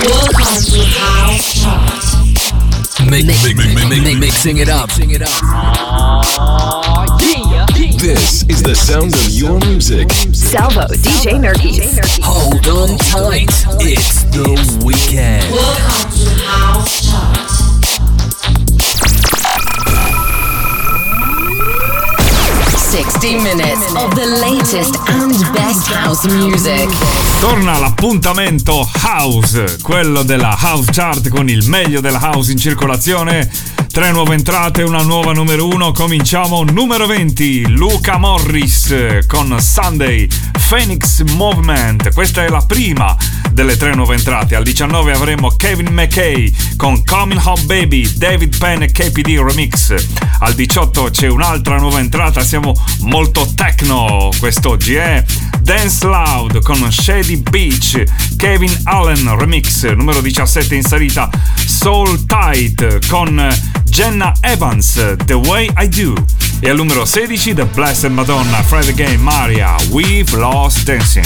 Welcome to House Chart. Mixing it up. This is the sound of your music. Salvo, DJ Nerkis. Hold on tight. It's the weekend. Welcome to House Chart. 60 minutes of the latest and best house music. Torna l'appuntamento House, quello della House Chart con il meglio della house in circolazione. 3 nuove entrate, una nuova numero 1. Cominciamo numero 20, Luca Morris con Sunday, Phoenix Movement. Questa è la prima delle 3 nuove entrate. Al 19 avremo Kevin McKay con Coming Home Baby, David Penn e KPD Remix. Al 18 c'è un'altra nuova entrata, siamo molto techno quest'oggi, Dance Loud con Shady Beach, Kevin Allen Remix. Numero 17 in salita, Soul Tight con Jenna Evans, The Way I Do. E al numero 16 The Blessed Madonna, Fred Again, Maria, We've Lost Dancing.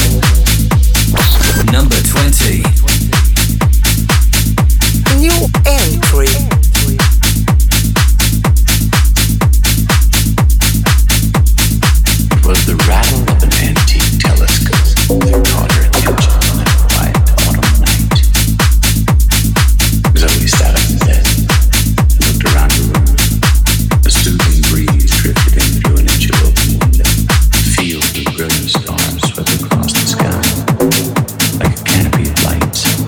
Number 20. New entry. It was the rattle of an antique telescope that caught her attention on a quiet autumn night. Zoe sat up in bed and looked around the room. A soothing breeze drifted in through an inch of open window. Fields of brilliant stars swept across the sky like a canopy of lights.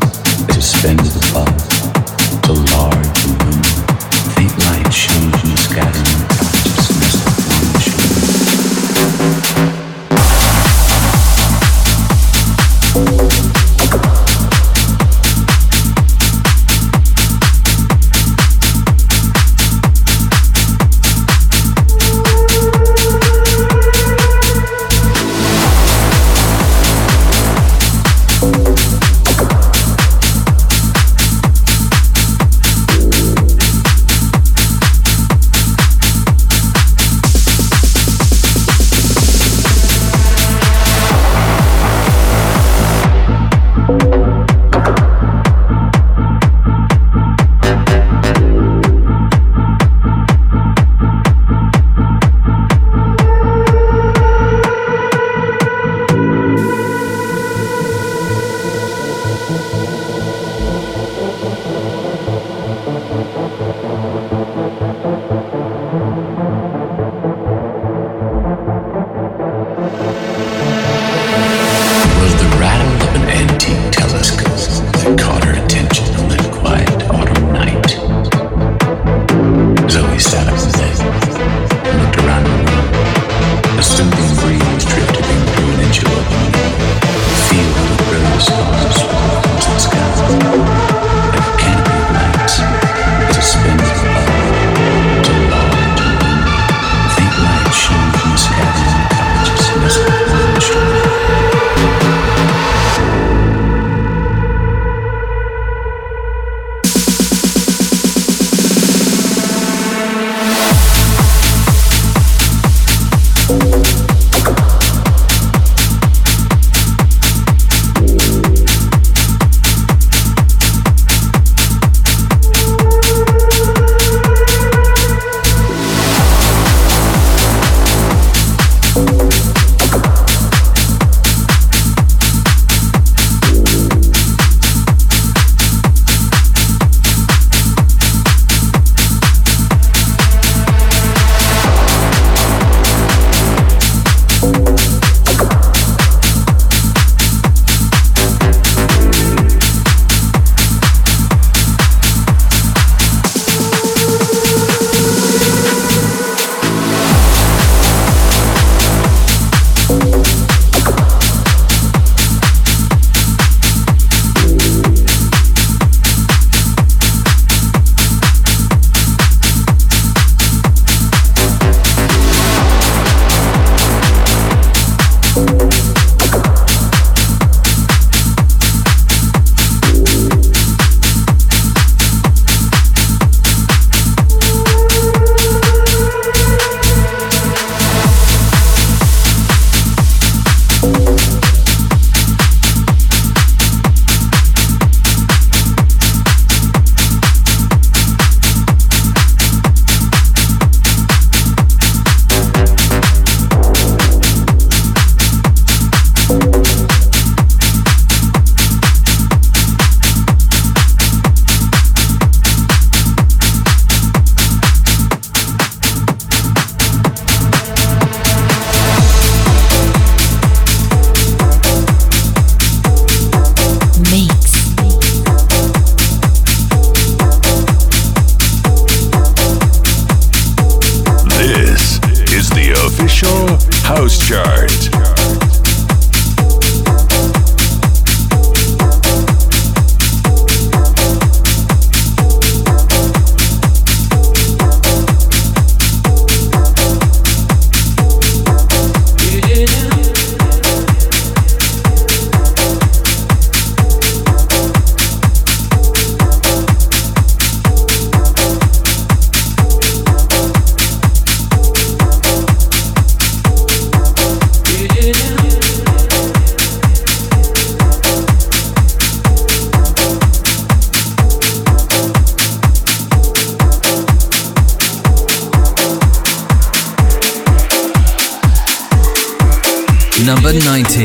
number 19.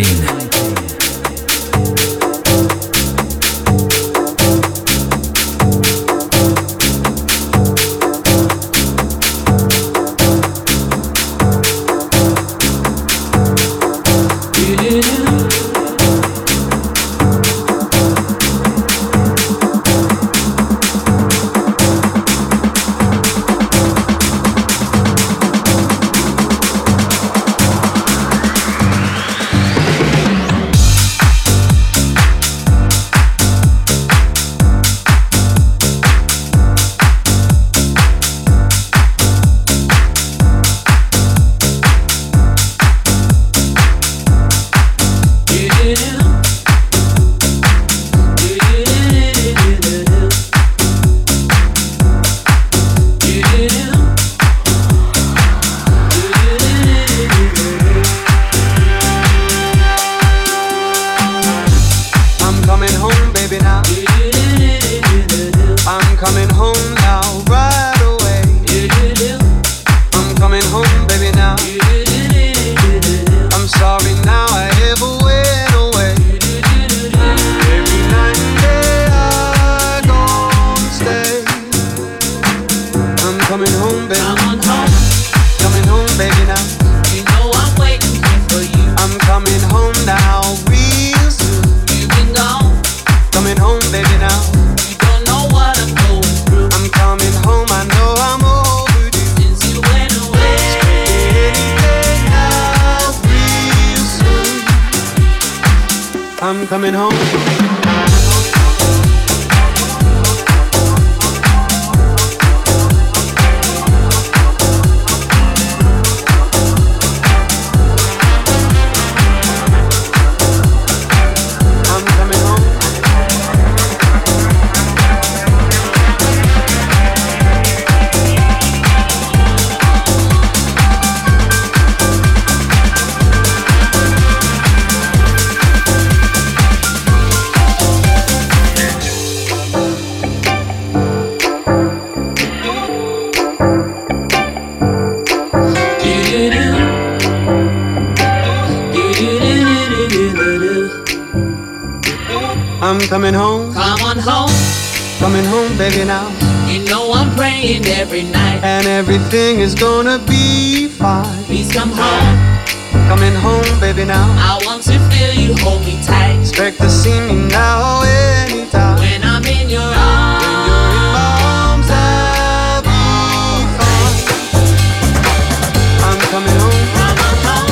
Coming home. I'm coming home. Come on home. Coming home, baby, now. You know I'm praying every night. And everything is gonna be fine. Please come home. Coming home, baby, now. I want to feel you hold me tight. Expect to see me now anytime. When I'm in your arms. When you're in my arms, I'll be fine. I'm coming home. Come on home.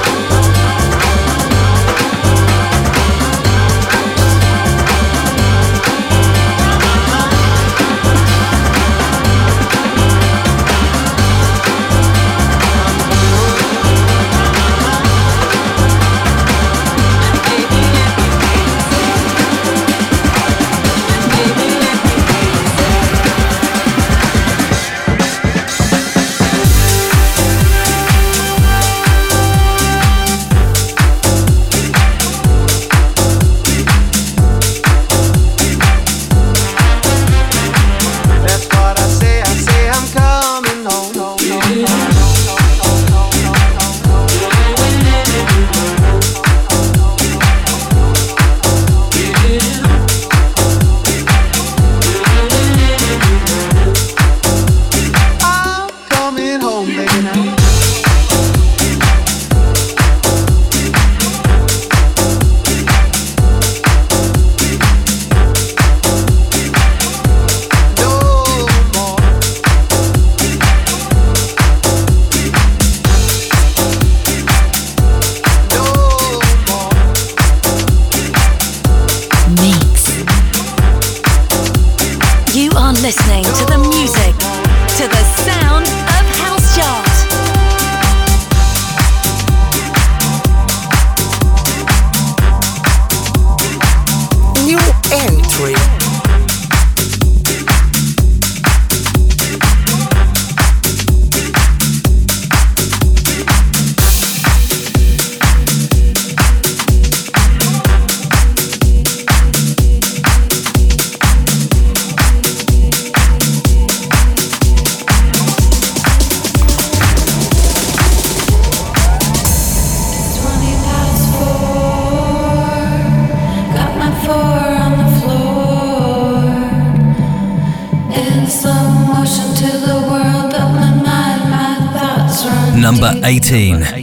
listening to the music, to the sound of House Chart. New entry. Number 18.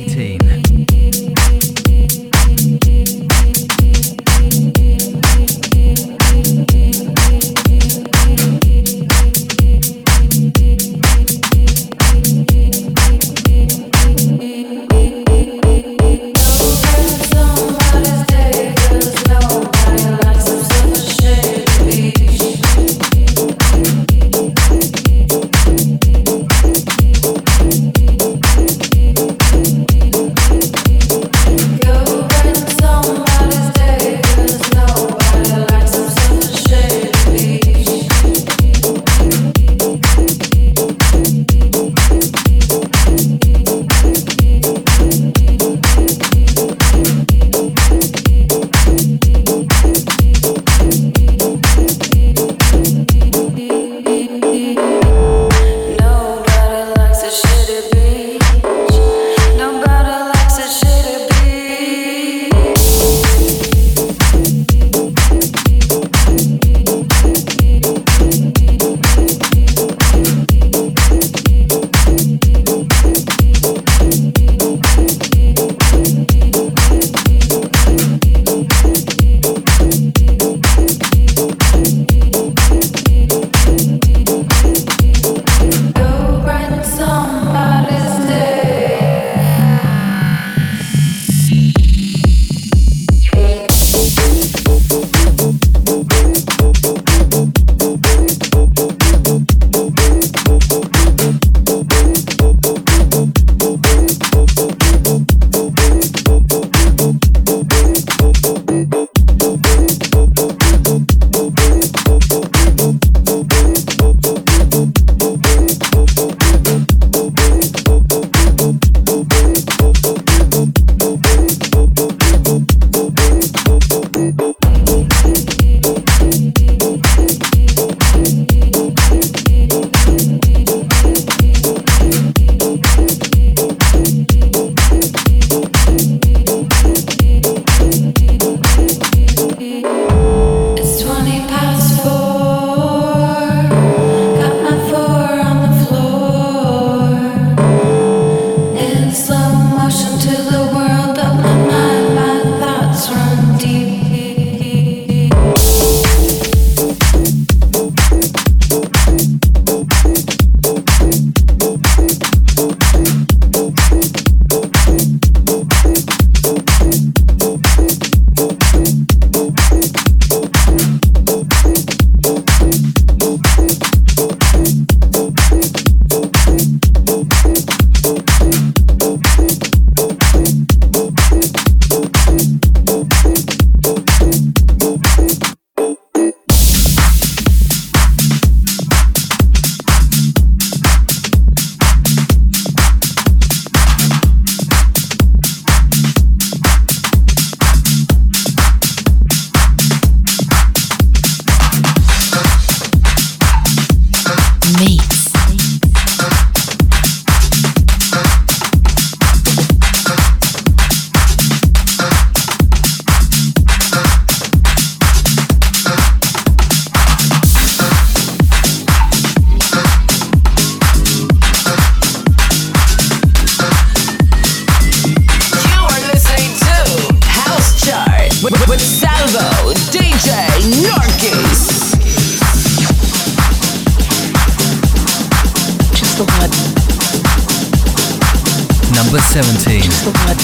Number 17. Just the word.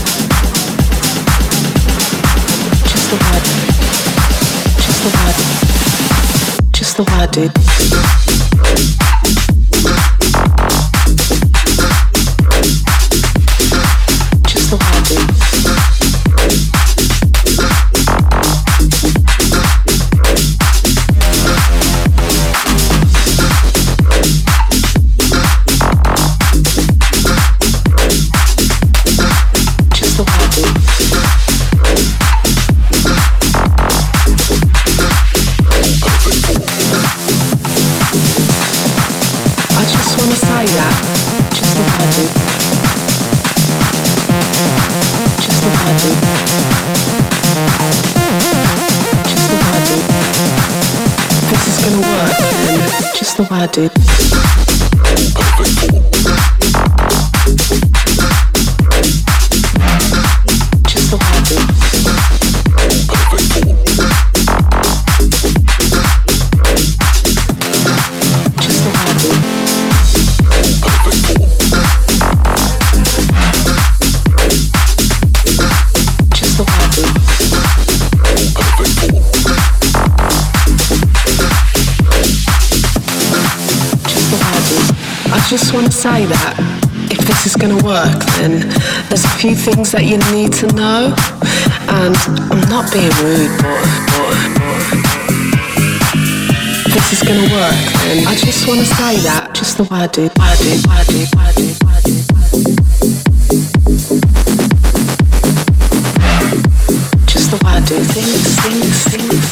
Just the word. Just the word. Just the word, dude. Just the word, dude. Just the word, dude. just want to say that if this is going to work, then there's a few things that you need to know. And I'm not being rude, but if this is going to work, then I just want to say that just the way I do. Just the way I do things.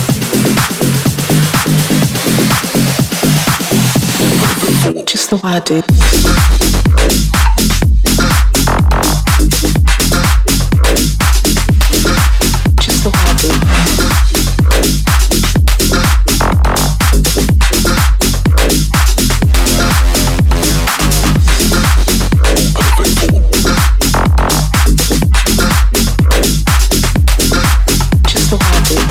Just the way I do. Just the way I do. Just the way I do.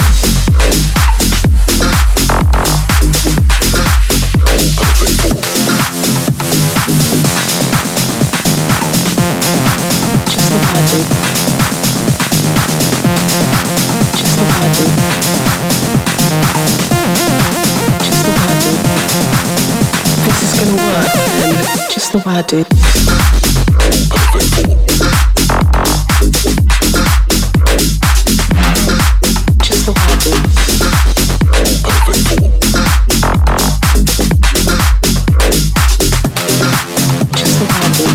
Just the way I do. Just the way I do. Just the way I do.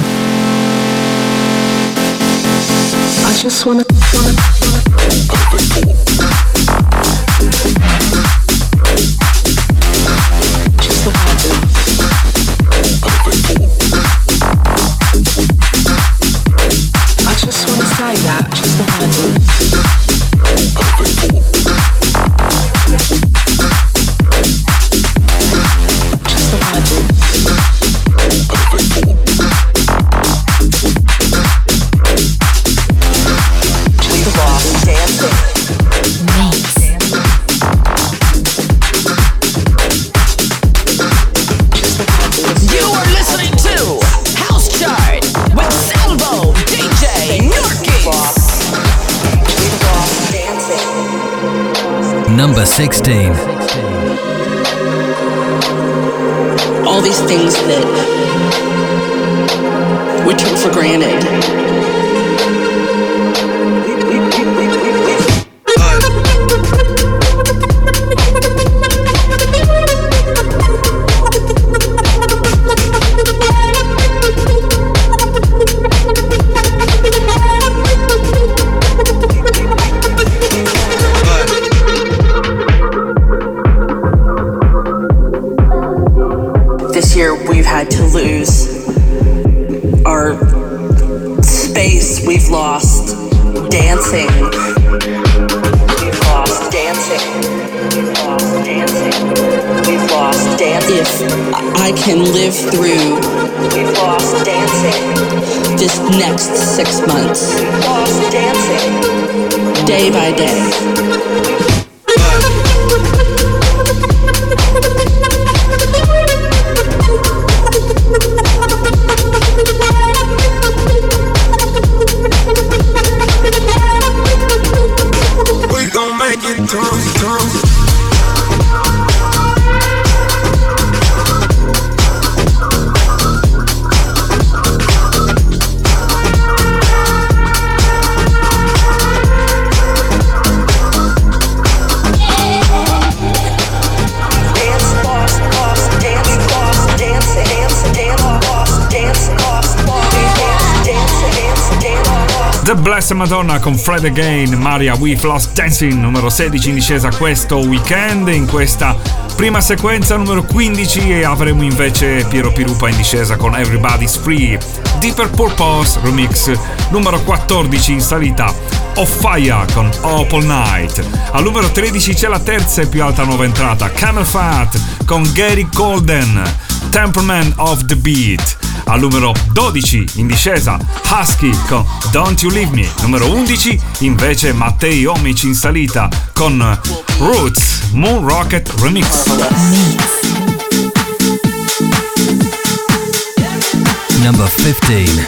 I just wanna. Just the way I do. I just wanna say that, just the way I do. Just the way I do. We've lost dancing. You are listening to House Chart with Salvo DJ Nurkis. Number 16. All these things that we took for granted. This year we've had to lose our space. We've lost dancing. We've lost dancing. We've lost dancing. We've lost dancing. If I can live through, we've lost dancing. This next 6 months, we've lost dancing. Day by day. We gon' make it through. The Blessed Madonna con Fred Again, Maria We've Lost Dancing, numero 16 in discesa questo weekend. In questa prima sequenza numero 15 avremo invece Piero Pirupa in discesa con Everybody's Free. Deeper Purpose Remix, numero 14 in salita, Off Fire con Up All Night. Al numero 13 c'è la terza e più alta nuova entrata, Camel Fat con Gary Golden, Temperament of the Beat. Al numero 12 in discesa Husky con Don't You Leave Me. Numero 11 invece Mattei Omic in salita con Roots Moon Rocket Remix. Number 15.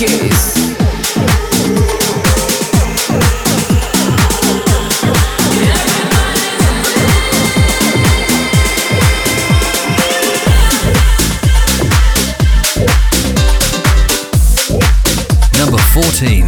Goose. Number 14.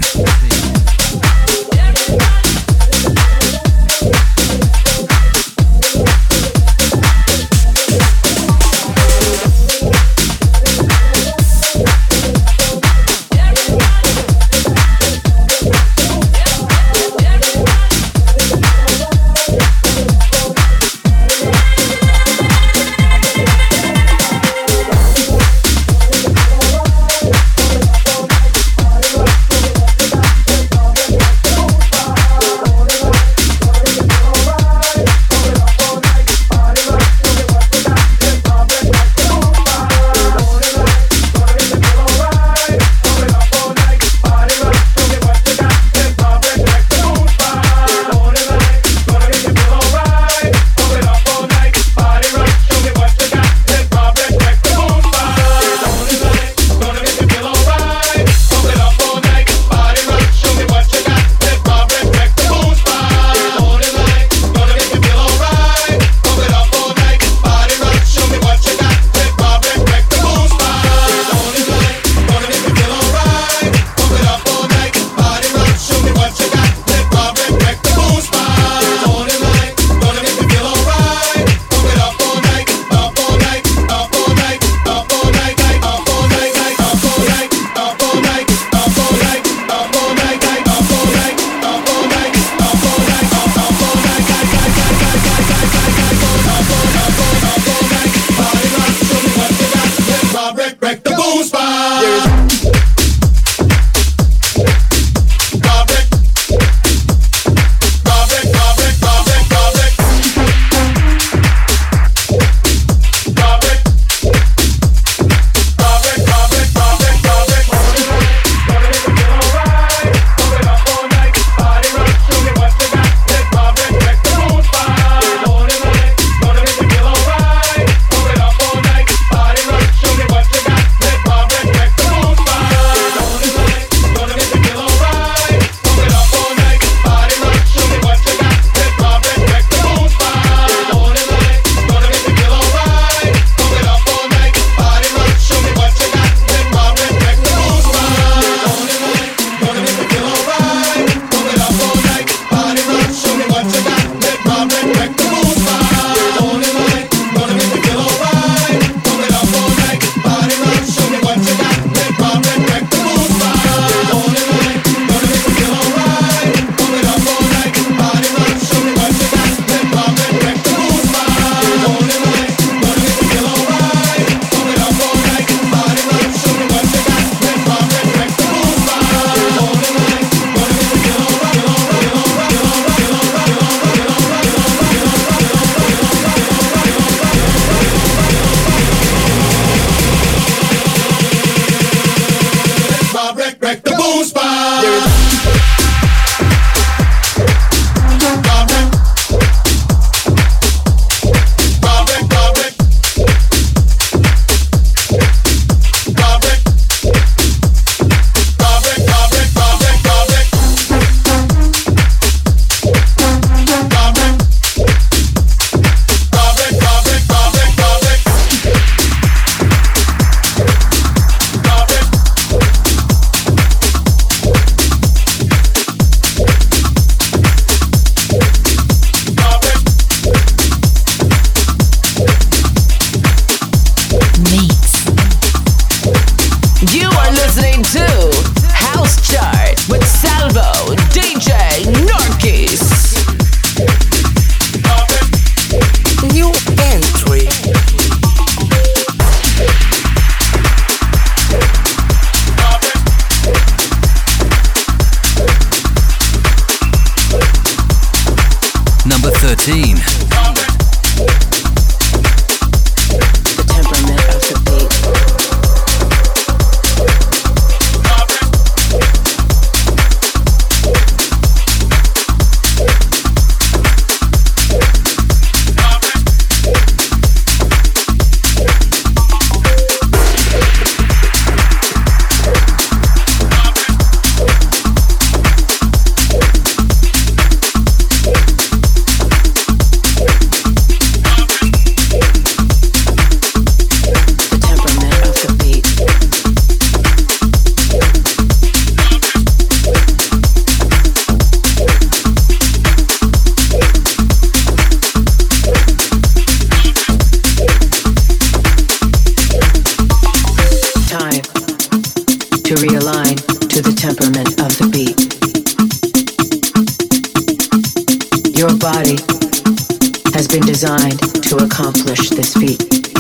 accomplish this feat.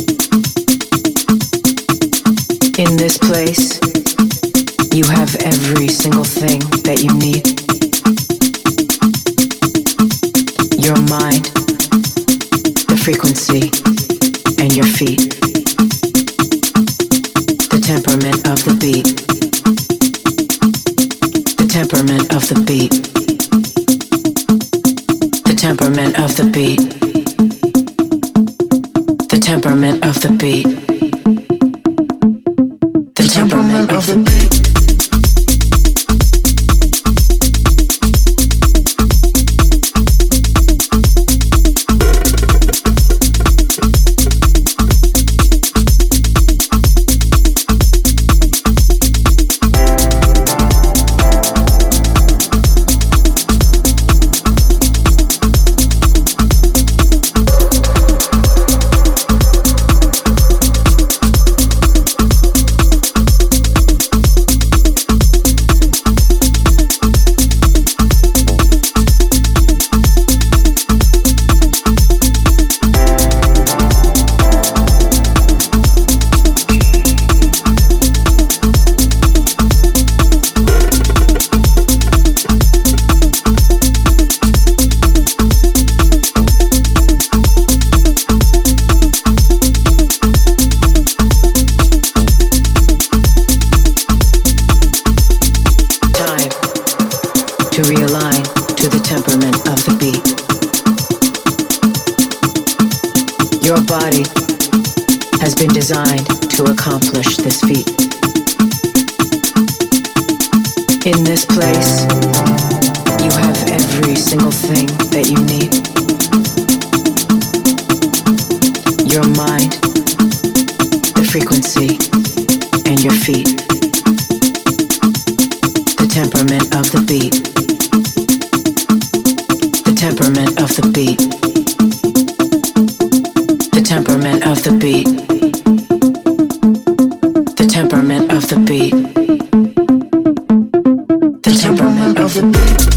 In this place, you have every single thing that you need. Your mind, the frequency, and your feet. The temperament of the beat. The temperament of the beat. The temperament of the beat. The temperament of the beat. The temperament of the beat. Designed to accomplish this feat. In this place, you have every single thing that you need. Your mind, the frequency, and your feet. The temperament of the beat. The temperament of the beat. The temperament of the beat. The temperament of the beat. The temperament of the beat.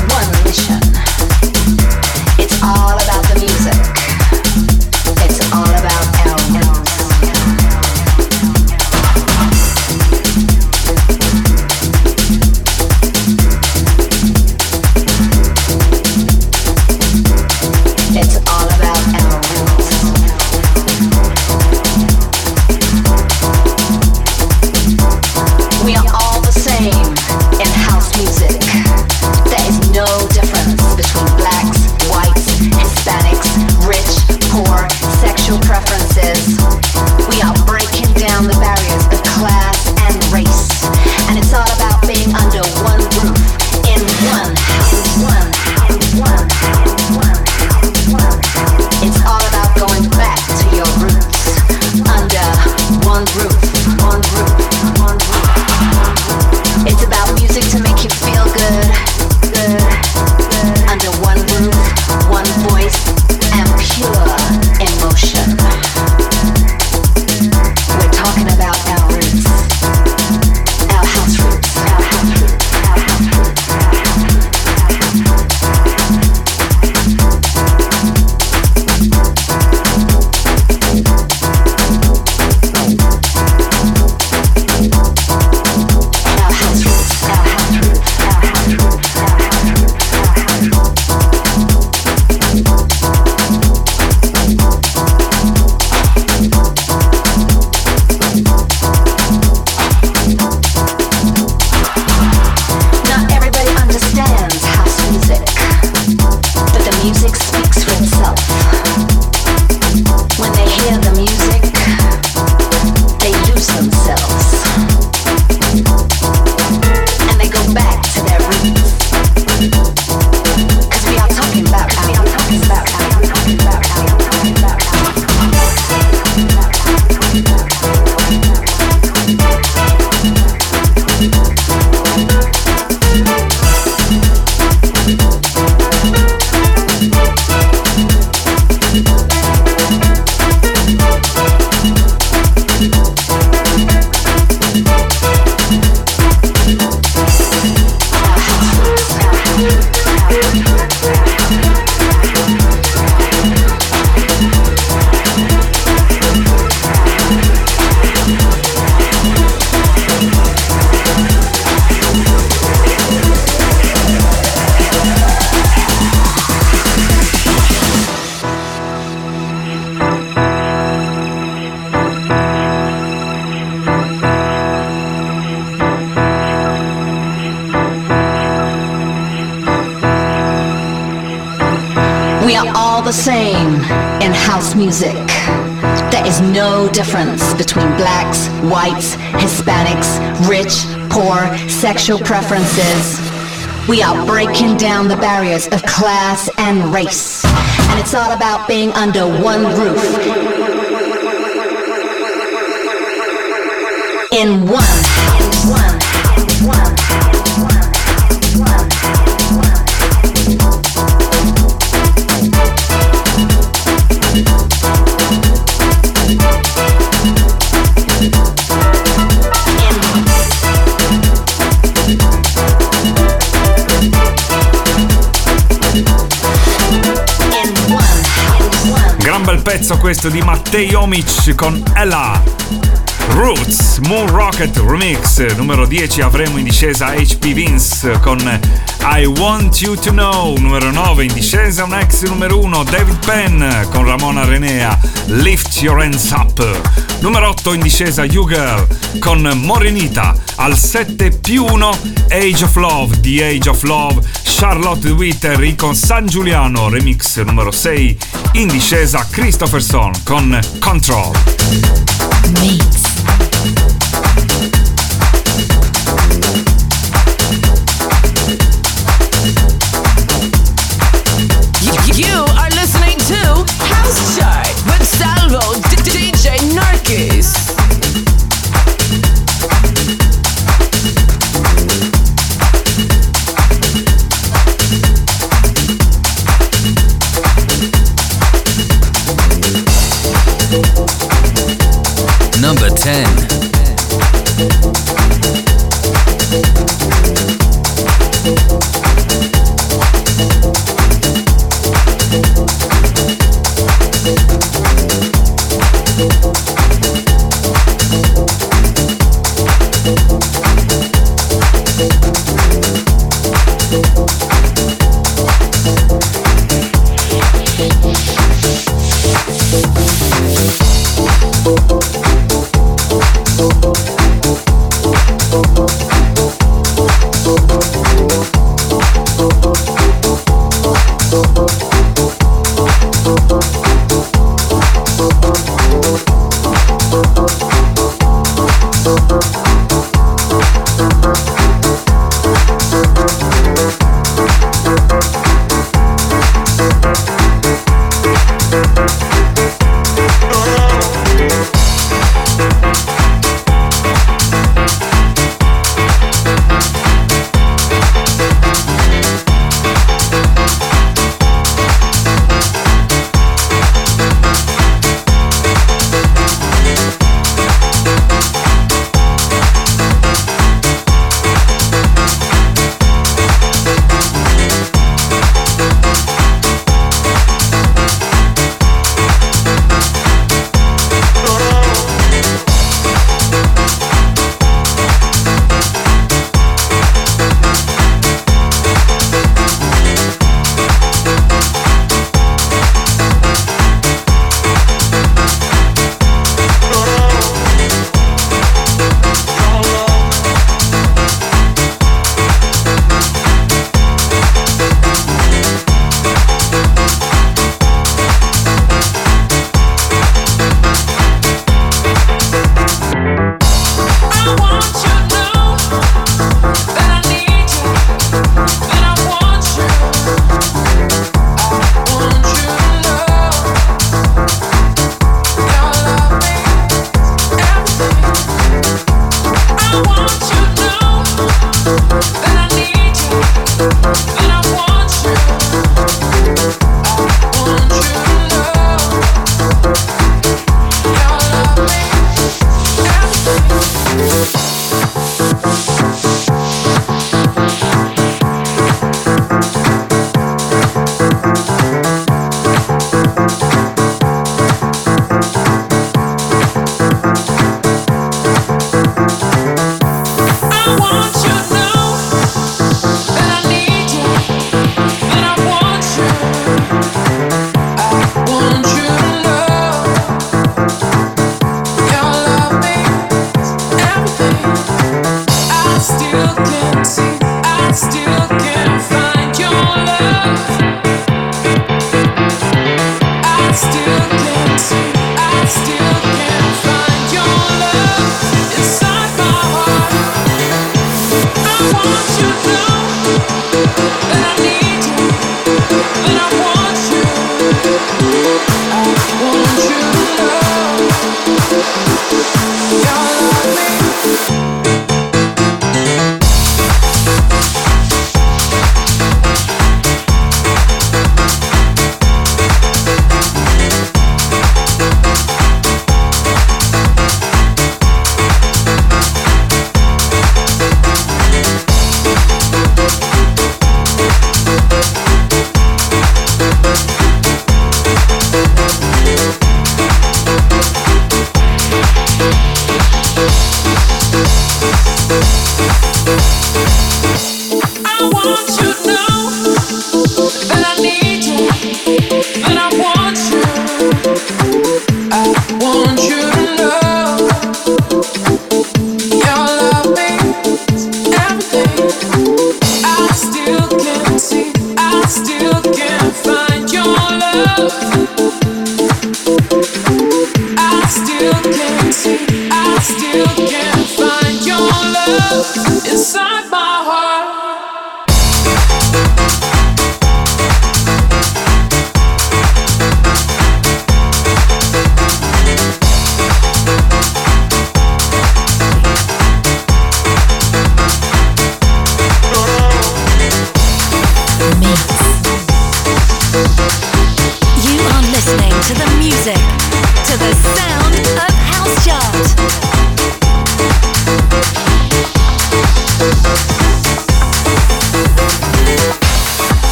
one mission. It's all about the music. It's all about our roots. It's all about our roots. We are all the same in house music. There is no difference between blacks, whites, Hispanics, rich, poor, sexual preferences. We are breaking down the barriers of class and race. And it's all about being under one roof, in one house. It's all about going back to your roots, under one roof, one roof, one roof. It's about music to make you feel good, under one roof, one voice, and pure emotion. We're talking about our roots, our house roots, our house roots, our house roots, our house roots. Not everybody understands house music, but the music speaks for itself. When they hear the music, they lose themselves. And they go back to their roots. 'Cause we are talking about, we are all the same in house music. There is no difference between blacks, whites, Hispanics, rich, poor, sexual preferences. We are breaking down the barriers of class and race. And it's all about being under one roof. In one house. Gran bel pezzo questo di Matej Omic con Ella. Roots, Moon Rocket Remix. Numero 10 avremo in discesa HP Vince con I Want You To Know. Numero 9 in discesa un ex numero 1 David Penn con Ramona Renea, Lift Your Hands Up. Numero 8 in discesa You Girl con Morenita. Al 7+1 Age of Love, The Age of Love, Charlotte Witter con San Giuliano. Remix numero 6 in discesa Christopherson con Control. Mix. You are listening to House Chart with Salvo DJ Narkis. Number 10.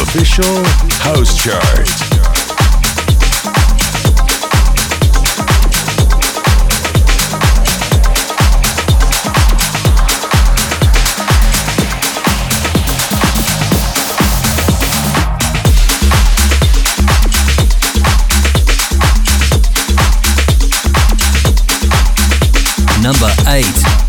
official House Chart. Number 8.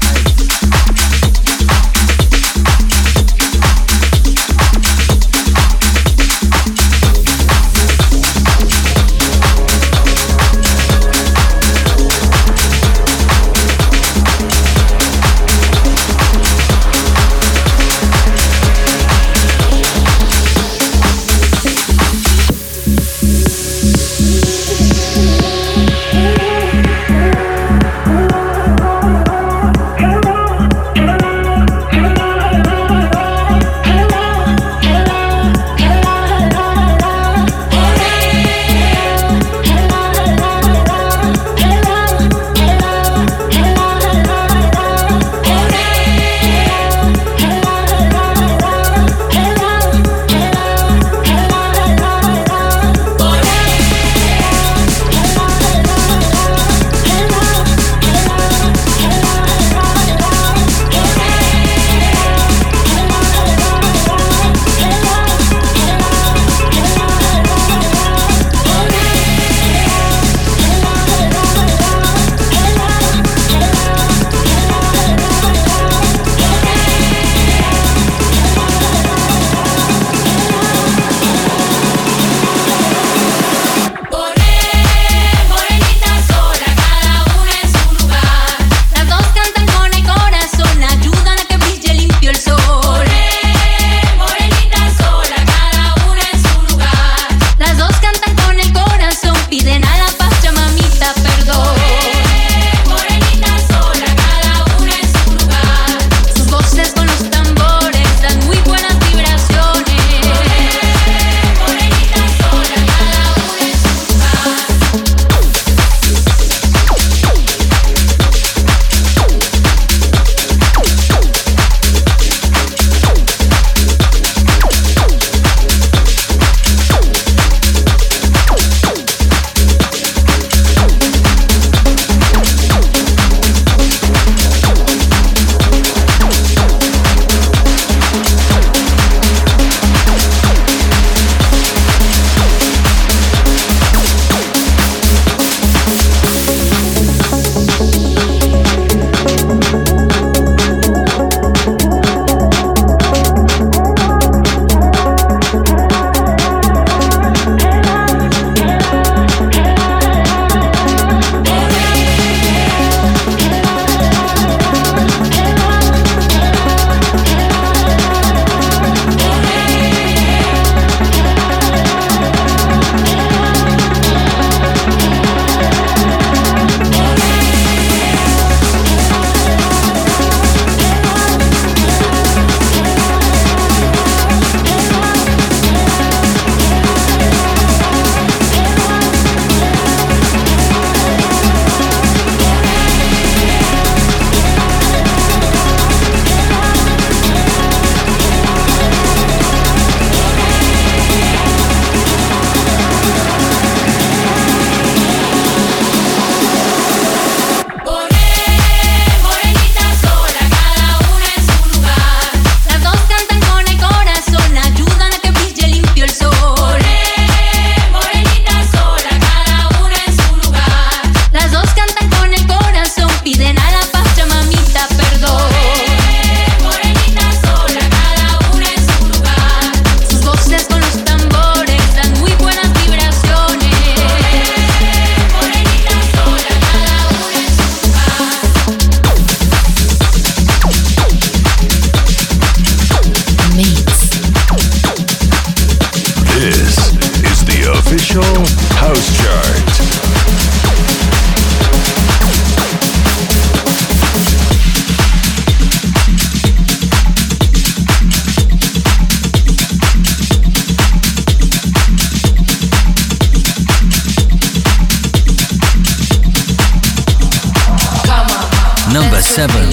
Number 7.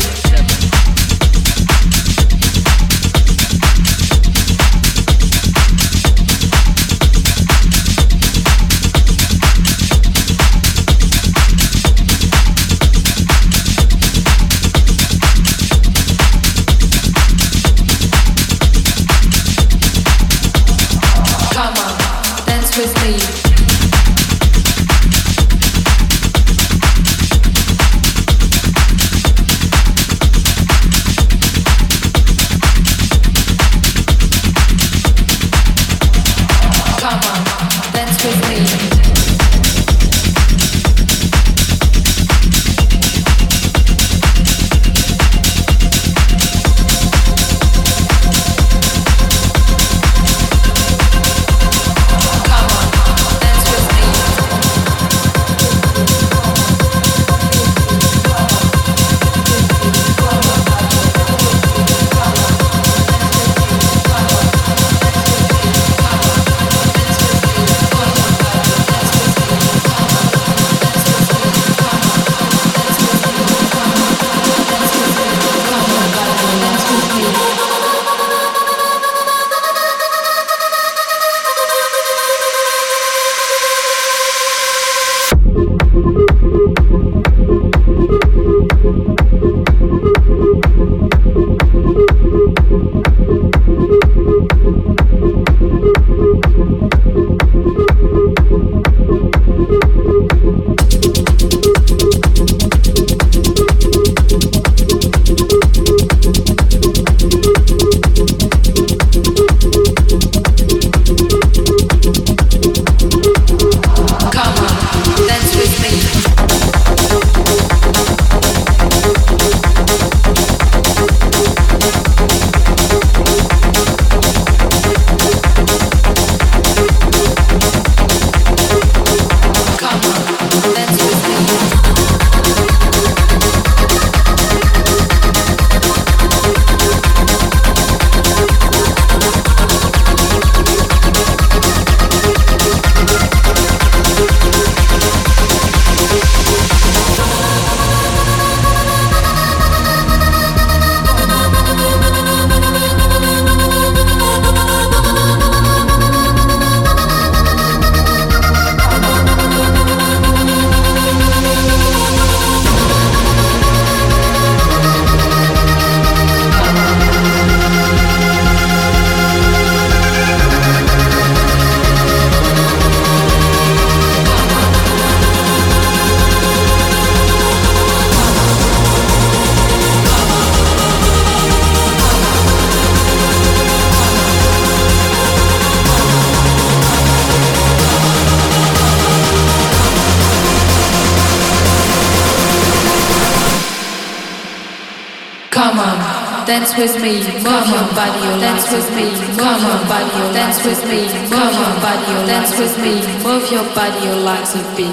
dance with me, move your body, dance with me, move your body, dance with me, move your body, dance with me, move your body, your legs a beat.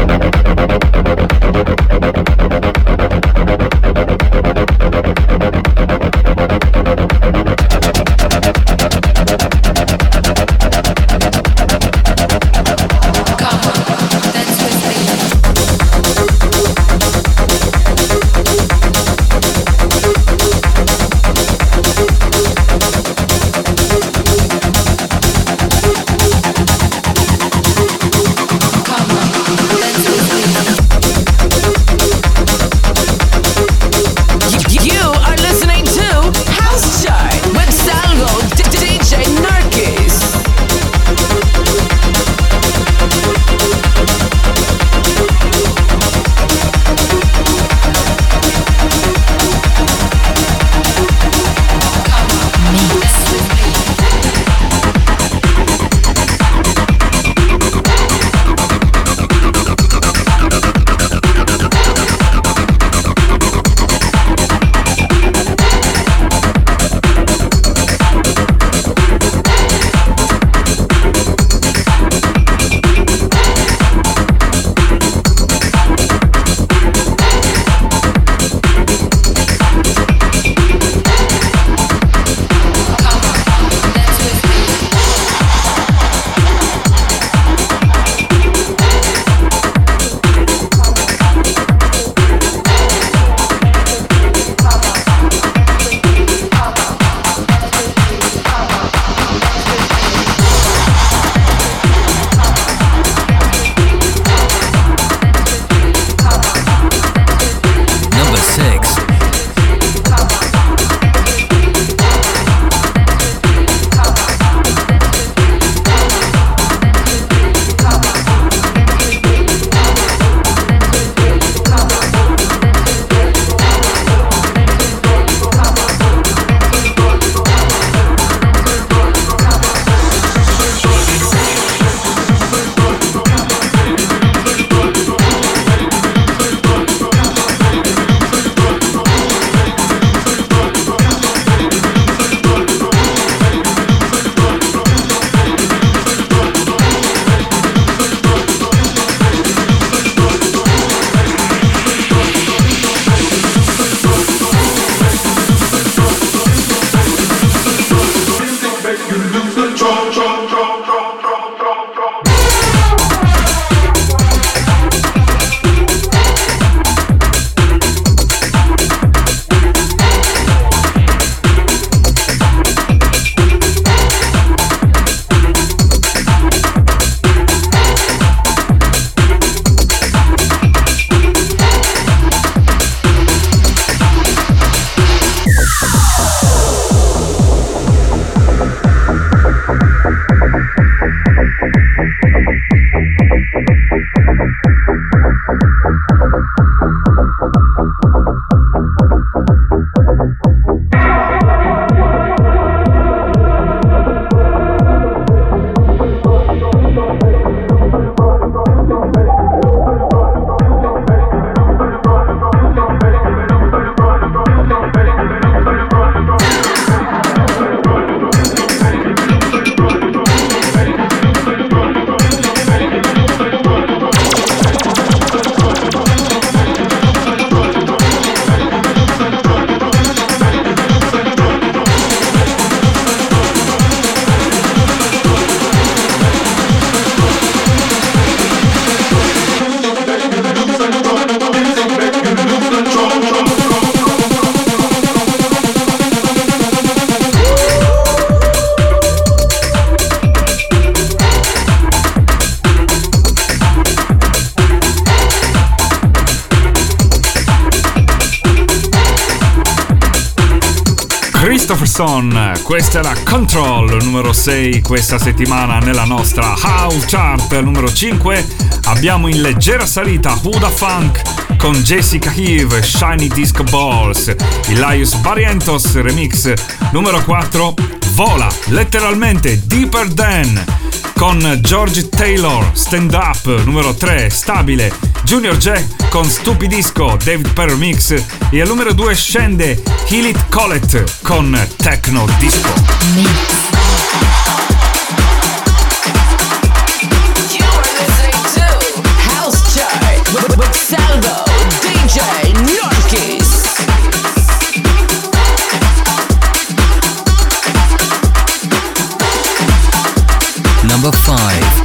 Christopherson, questa è la Control numero 6 questa settimana nella nostra House Chart. Numero 5 abbiamo in leggera salita Huda Funk con Jessica Heave, Shiny Disco Balls. Il Laius Barrientos remix numero 4, vola letteralmente Deeper Than, con George Taylor, Stand Up. Numero 3, stabile Junior Jack con Stupidisco, David Perry Mix. E al numero 2 scende Heal It Colette con Techno Disco. With Salvo, DJ Norkis. Number 5.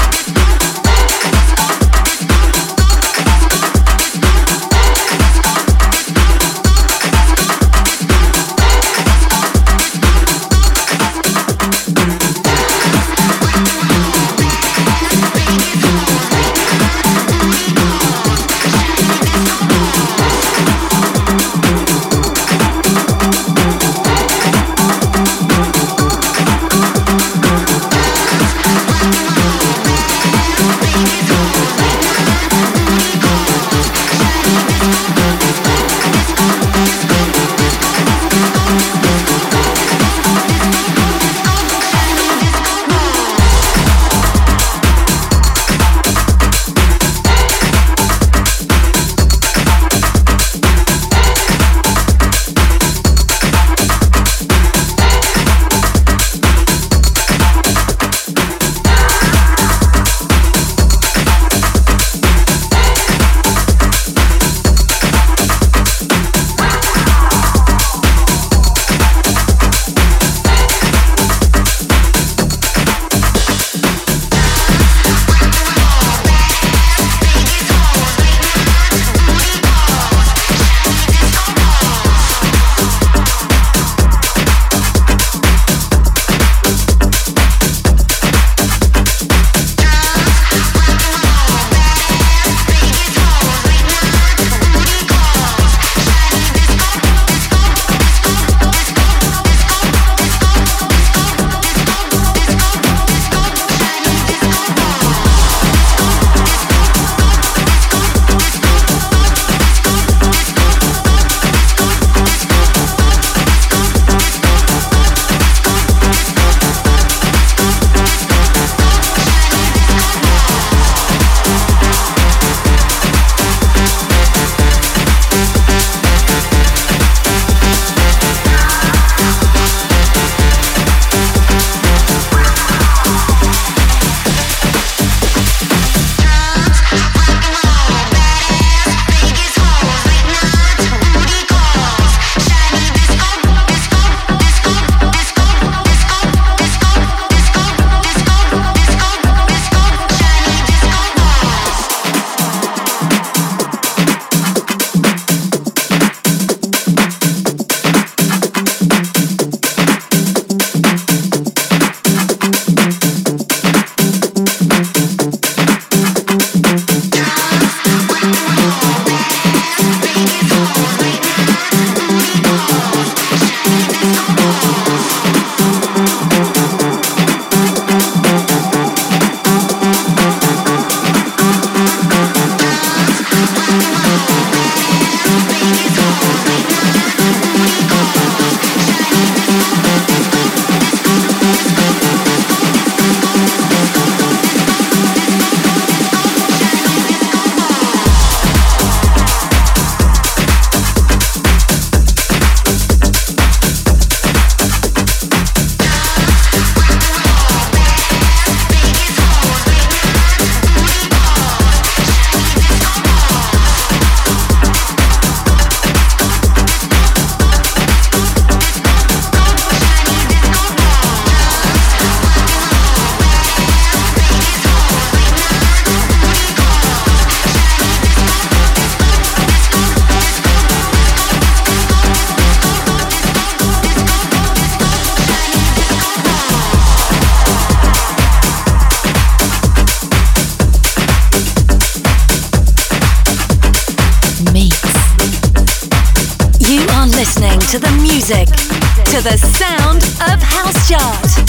to the music, to the sound of House Chart.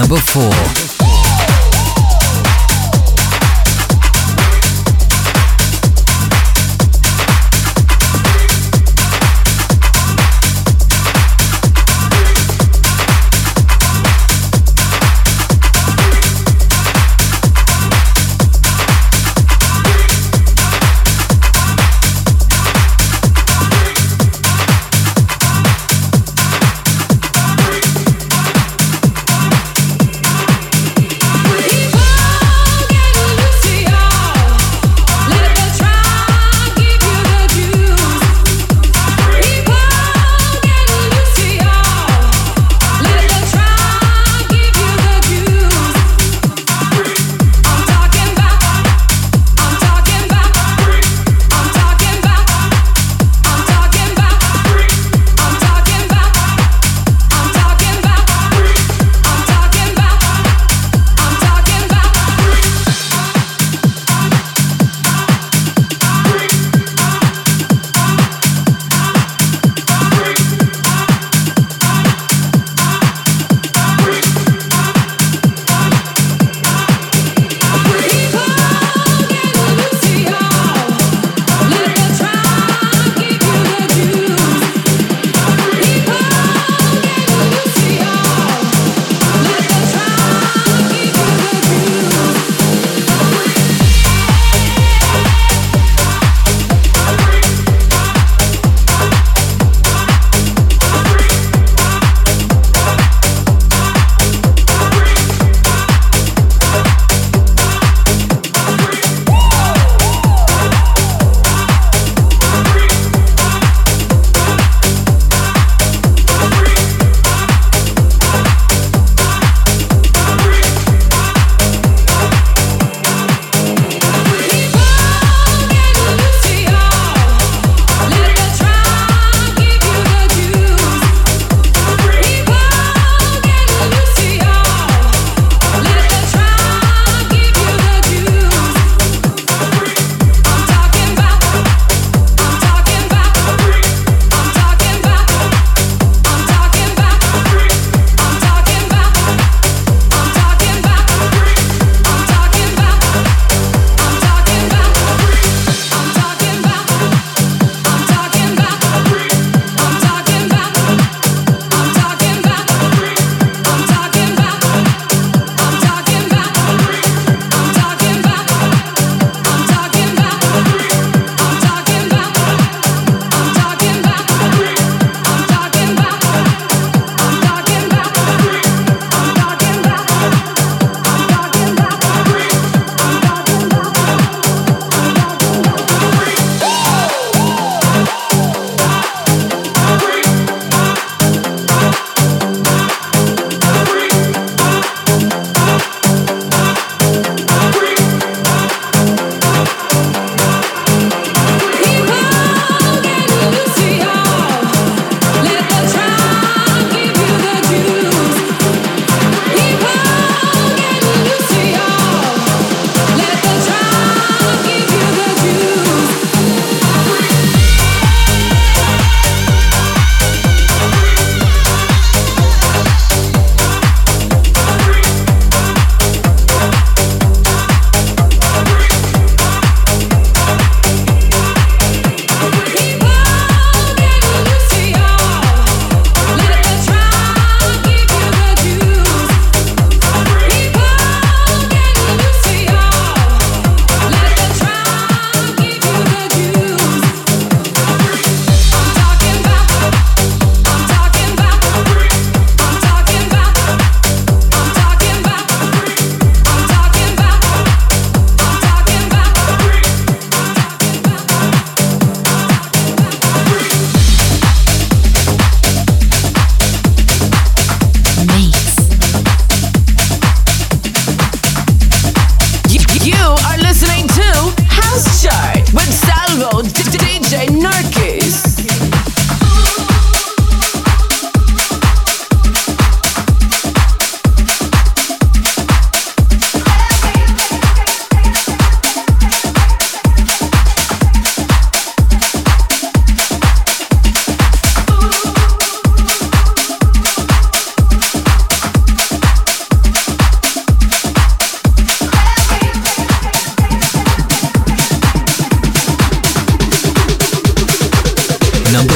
number 4.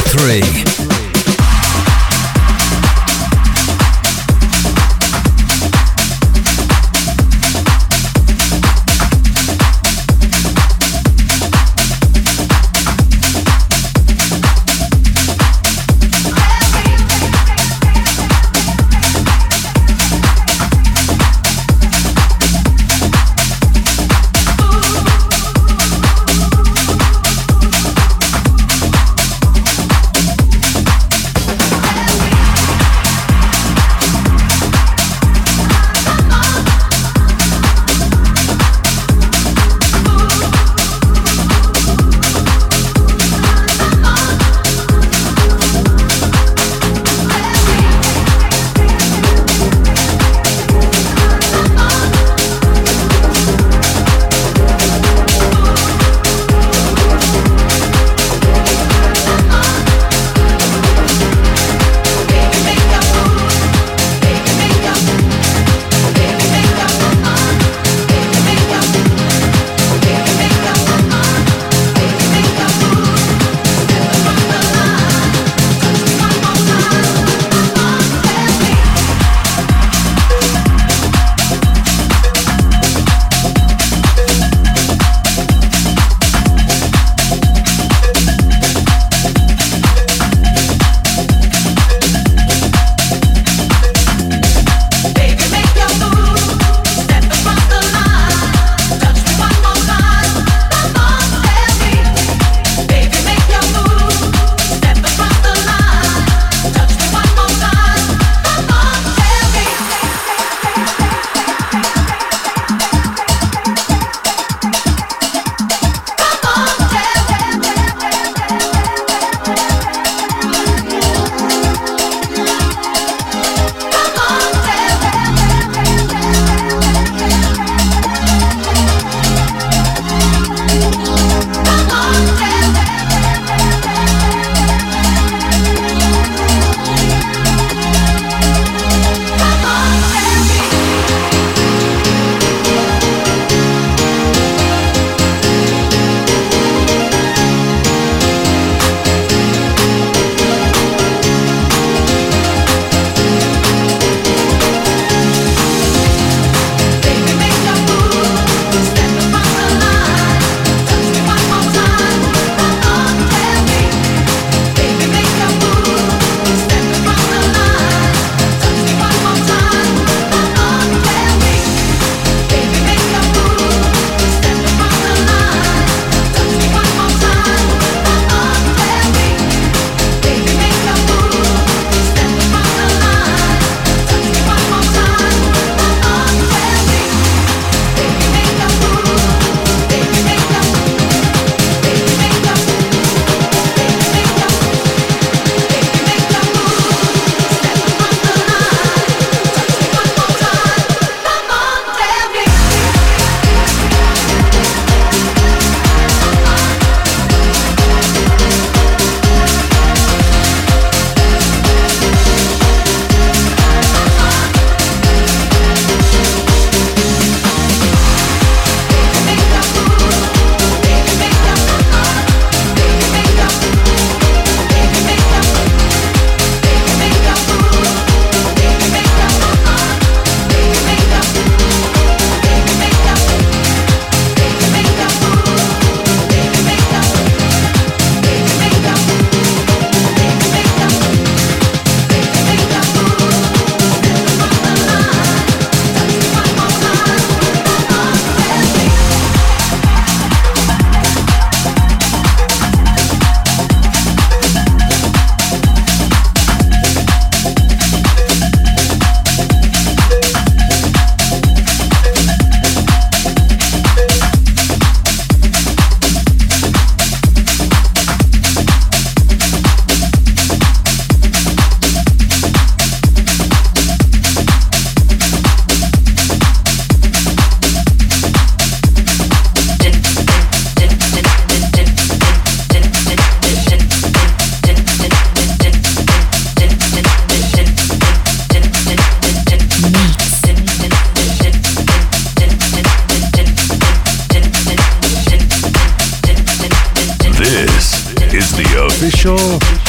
3.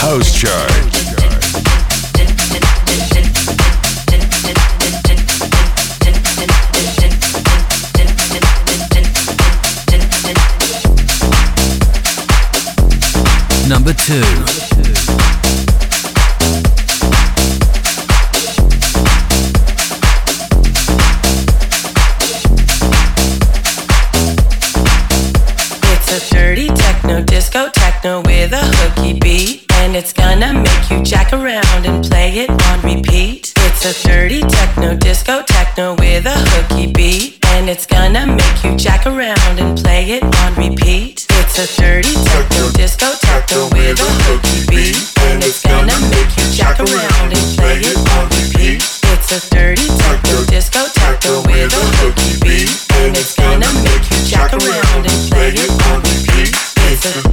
House Chart. Number 2. Dirty techno, disco techno with a hooky beat, and it's gonna make you jack around and play it on repeat. It's a dirty techno, disco techno with a hooky beat, and it's gonna make you jack around and play it on repeat. It's a dirty techno, disco techno with a hooky beat, and it's gonna make you jack around and play it on repeat. It's a dirty techno, disco techno with a hooky beat, and it's gonna make you jack around and play it on repeat. It's a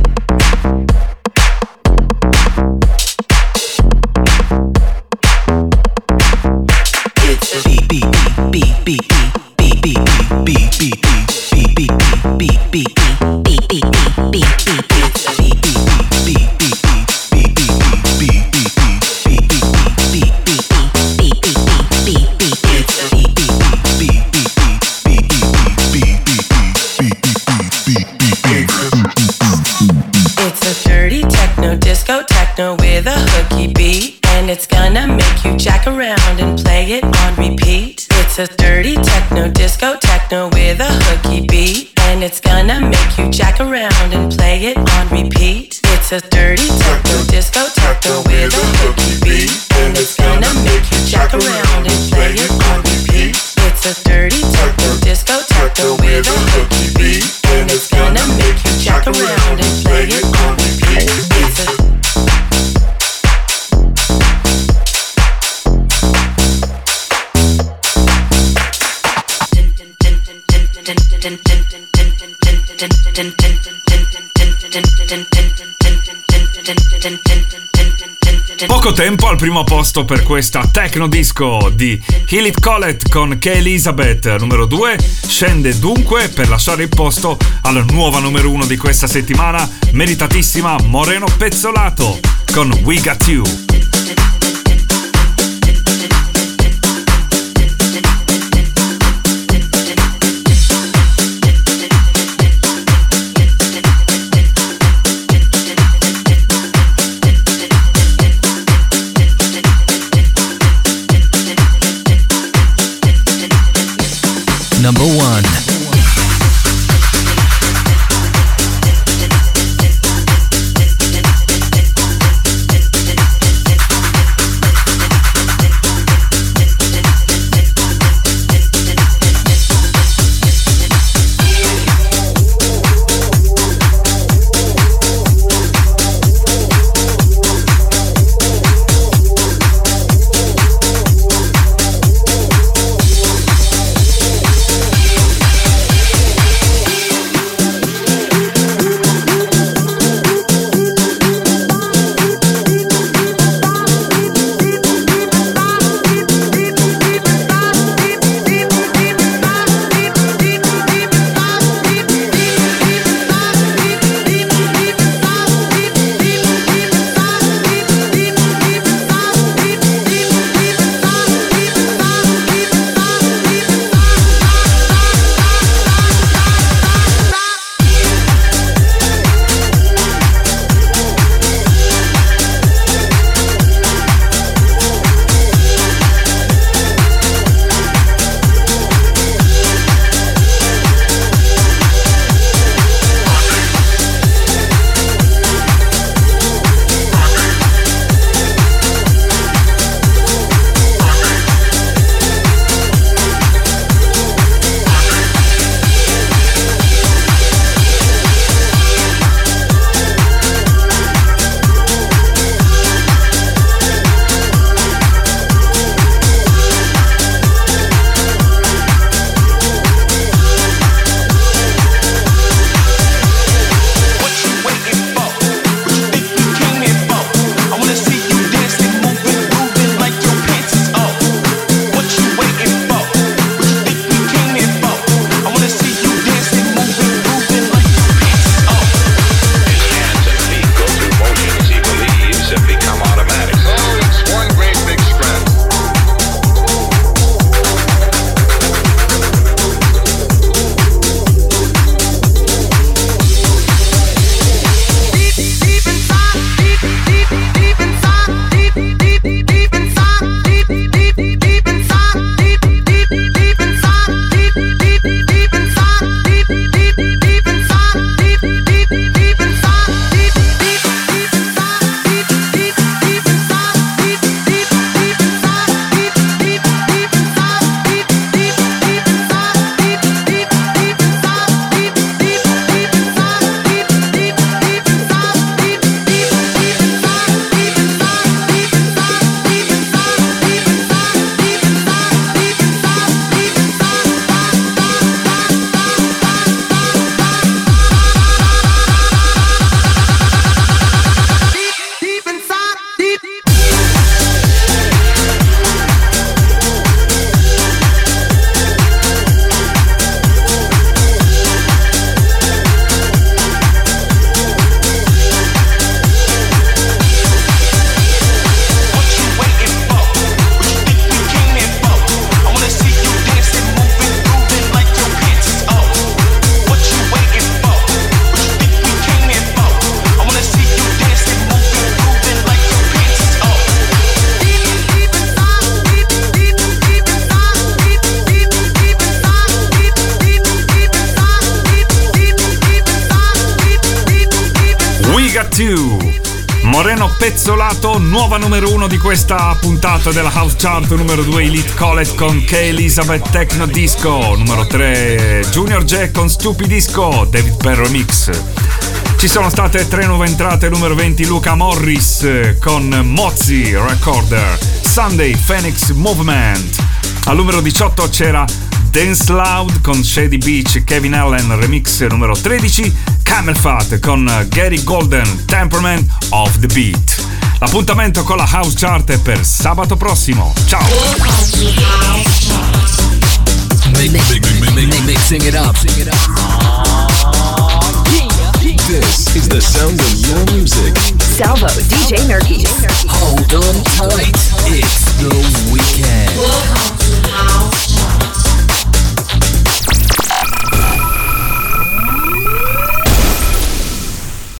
with a hooky beat, and it's gonna make you jack around and play it on repeat. It's a dirty techno, disco techno with a hooky beat, and it's gonna make you jack around and play it on repeat. It's a dirty techno, disco techno with a hooky beat, and it's gonna make you jack around and play it on repeat. It's a dirty techno, disco techno with a hooky beat, and it's gonna make you jack around and play it on repeat. It's a Poco tempo al primo posto per questa techno disco di Heal It Colette con K. Elizabeth. Numero 2 scende dunque per lasciare il posto alla nuova numero 1 di questa settimana, meritatissima Moreno Pezzolato con We Got You. Number 1. 2. Moreno Pezzolato, nuova numero 1 di questa puntata della House Chart. Numero 2 Elite Colette con K. Elizabeth Techno Disco. Numero 3 Junior Jack con Stupid Disco, David Penn Remix. Ci sono state 3 nuove entrate. Numero 20 Luca Morris con Mozzi Recorder, Sunday Phoenix Movement. Al numero 18 c'era Dance Loud con Shady Beach, Kevin Allen Remix. Numero 13 Camel Fat con Gary Golden, Temperament of the Beat. L'appuntamento con la House Chart è per sabato prossimo. Ciao! Mixing it up. This is the sound of your music. Salvo, DJ Nerky. Hold on tight.